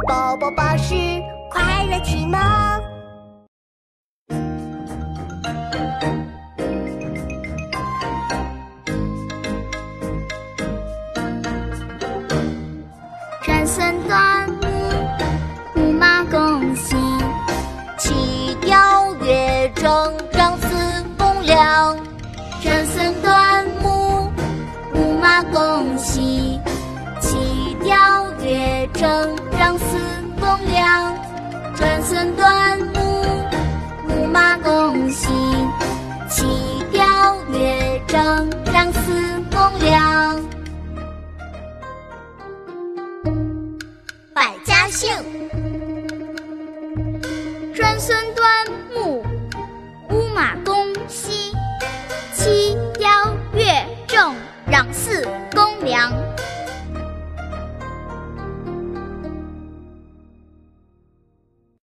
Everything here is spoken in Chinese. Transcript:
宝宝巴士快乐启蒙。 转孙端木，木马共行。起调乐正，张四公两。转孙端木，木马共行。起调乐正，张四公两。转孙端木，木马共行。起调乐正，张四公两。百家姓。转孙